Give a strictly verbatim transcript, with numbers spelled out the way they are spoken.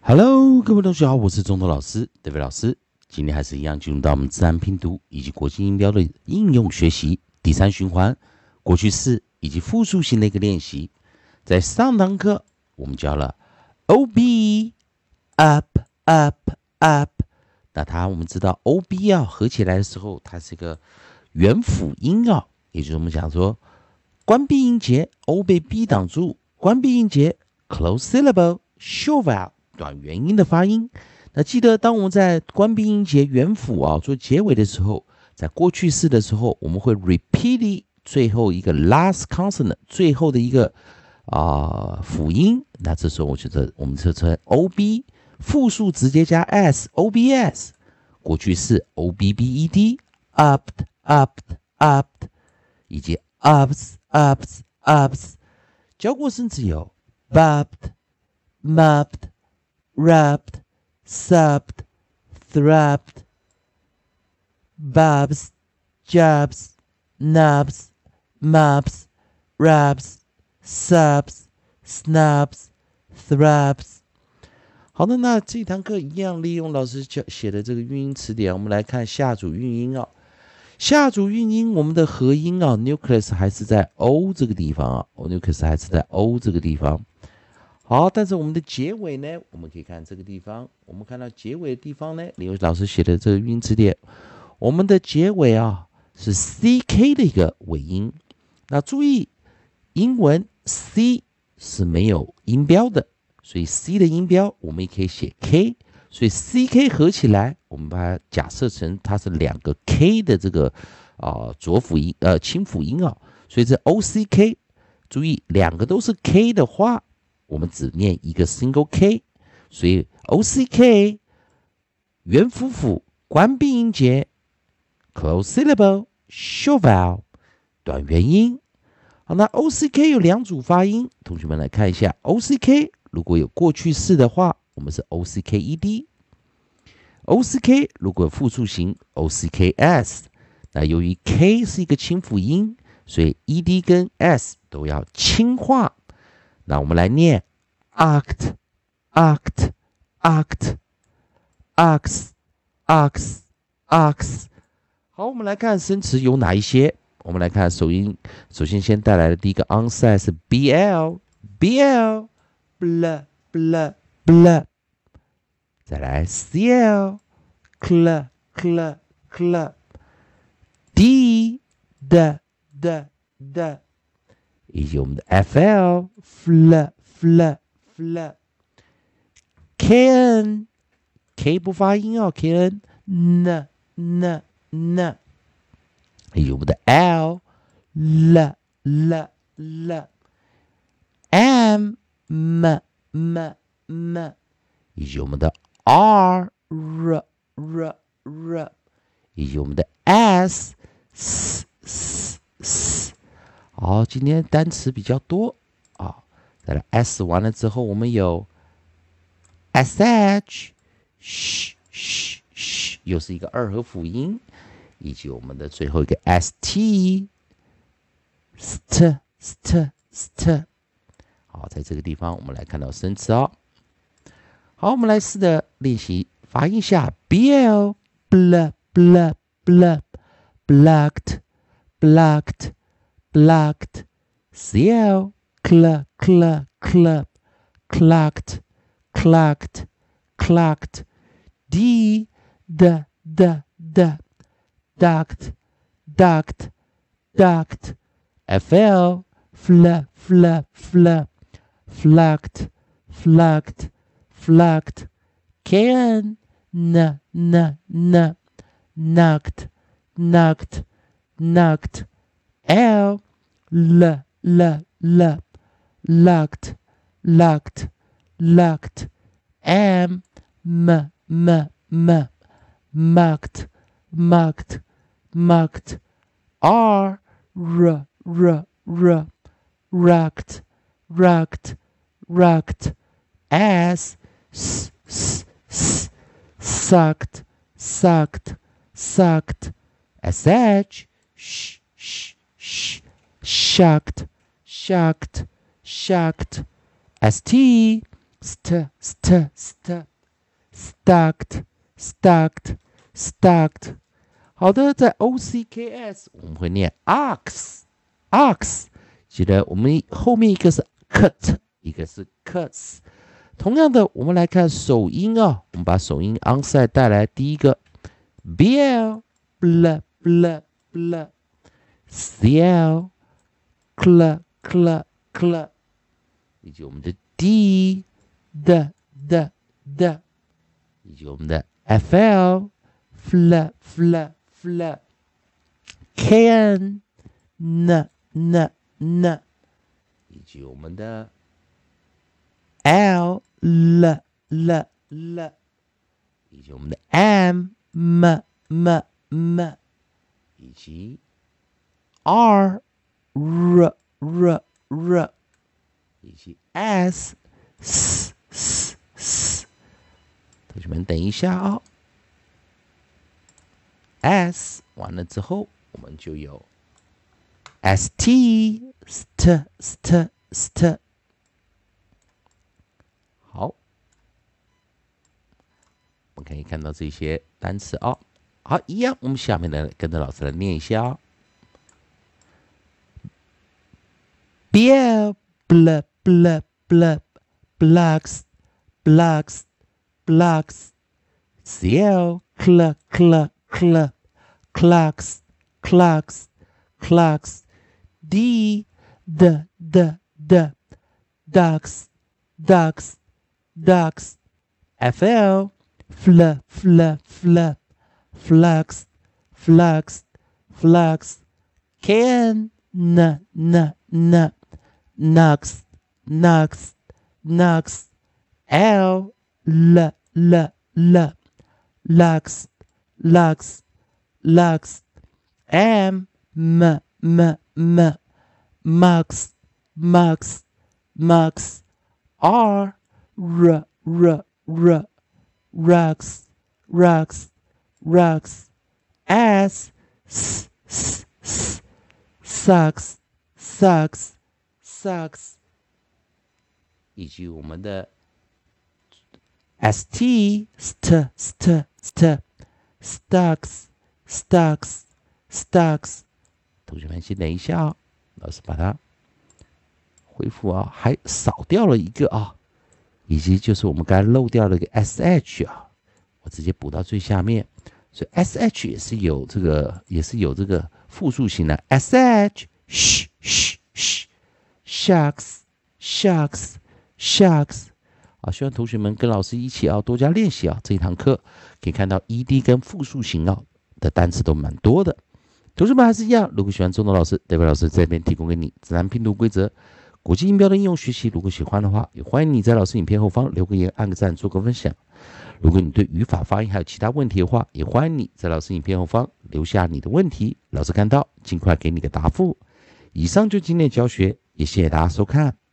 Hello，各位同学好，我是中头老师 David 老师。今天还是一样进入到我们自然拼读以及国际音标的应用学习第三循环，过去式以及复数型的一个练习。在上堂课我们教了 O B up up up，那它我们知道 O B 啊合起来的时候，它是一个元辅音啊，也就是我们讲说关闭音节 O 被 B 挡住，关闭音节 close syllable short vowel。短元音的发音，那记得当我们在关闭音节元辅啊做结尾的时候，在过去式的时候，我们会 repeat 最后一个 last consonant 最后的一个啊、呃、辅音。那这时候我觉得我们就称 O B， 复数直接加 s O B S， 过去式 O B B E D up up up， 以及 ups ups ups， 教过生词有 bubbed mubbed。Rubbed, subbed, thrubbed, bubs, jubs, nubs, mubs, rubs, subs, snubs, thrubs。好的，那这堂课一样利用老师写的这个韵音词典，我们来看下组韵音啊。下组韵音，我们的合音啊 ，nucleus 还是在 O 这个地方啊 ，nucleus 还是在 O 这个地方。好，但是我们的结尾呢？我们可以看这个地方，我们看到结尾的地方呢，李老师写的这个韵词典，我们的结尾啊是 C K 的一个尾音。那注意，英文 C 是没有音标的，所以 C 的音标我们也可以写 K， 所以 C K 合起来，我们把它假设成它是两个 K 的这个啊、呃、浊辅音呃清辅音啊，所以这 O C K， 注意两个都是 K 的话。我们只念一个 single K， 所以 O C K 元辅辅关闭音节 close syllable short vowel 短元音。好，那 O C K 有两组发音，同学们来看一下 O C K 如果有过去式的话，我们是 O C K E D。O C K 如果有复数型 O C K S， 那由于 K 是一个清辅音，所以 E D 跟 S 都要轻化。那我们来念 act act act ox ox ox。 好，我们来看生词有哪一些。我们来看首音，首先先带来的第一个 onset 是 bl bl bl bl bl， 再来 cl cl cl cl d d d d，以及我们的 fl fl fl fl kn k 不发音哦 kn n n n， 以及我们的 l l l l m m m m， 以及我们的 r r r r， 以及我们的 s s s s。好，今天单词比较多啊。再来 S 完了之后，我们有 sh， 嘘嘘嘘，又是一个二合辅音，以及我们的最后一个 st st st st。好，在这个地方我们来看到生词哦。好，我们来试着练习发音下 bl bl bl bl blocked blocked blocked cl cl cl cl clocked clocked clocked d d d d ducked ducked ducked fl fl fl fl flucked flucked flucked kn n n n knocked knocked knocked l l l l locked locked locked m m m m mucked mucked mucked r r r r rocked rocked rocked s s s s sucked sucked sucked sh sh sh sh shocked shocked shocked st st st st stacked stacked stacked。好的，在 O C K S 我们会念 ox ox， 记得我们后面一个是 cut， 一个是 cuts。同样的，我们来看首音啊，我们把首音 onside 带来，第一个 bl bl bl bl cl cl cl cl， 以及我们的 d d d d， 以及我们的 fl fl fl fl kn n n n， 以及我们的 l l l l， 以及我们的 m m m m， 以及 r r r r， 以及 s s s s。同学们等一下啊、哦、，s 完了之后，我们就有 st st st st。好，我们可以看到这些单词啊、哦。好，一样，我们下面呢跟着老师来念一下哦。Beer, blah, blah, blah, blocks, blocks, blocks. Cl, cl, cl, cl, clocks, clocks, clocks. D, d, d, d, ducks, ducks, ducks. Fl, fl, fl, fl, flux, flux, flux. Kn, n, n, n, knocks, knocks, knocks. L, l, l, l, lux, lux, lux. M, m, m, m, mux, mux, mux. R, r, r, r, rocks, rocks, rocks. S, s, s, s, sucks, sucks, sucks. 以及我们的 st, st, st, st, stocks, stocks, stocks。同学们先等一下哦，老师把它恢复啊，还少掉了一个啊，以及就是我们刚才漏掉了一个 sh 啊，我直接补到最下面，所以 sh 也是有这个，也是有这个复数型的 sh， sh sh sh shucks shucks shucks。啊，希望同学们跟老师一起啊多加练习啊，这一堂课可以看到 ed 跟复数型啊的单词都蛮多的。同学们还是一样，如果喜欢中东老师，代表老师这边提供给你自然拼读规则、国际音标的应用学习。如果喜欢的话，也欢迎你在老师影片后方留个言、按个赞、做个分享。如果你对语法、发音还有其他问题的话，也欢迎你在老师影片后方留下你的问题，老师看到尽快给你个答复。以上就今天的教学，也谢谢大家收看。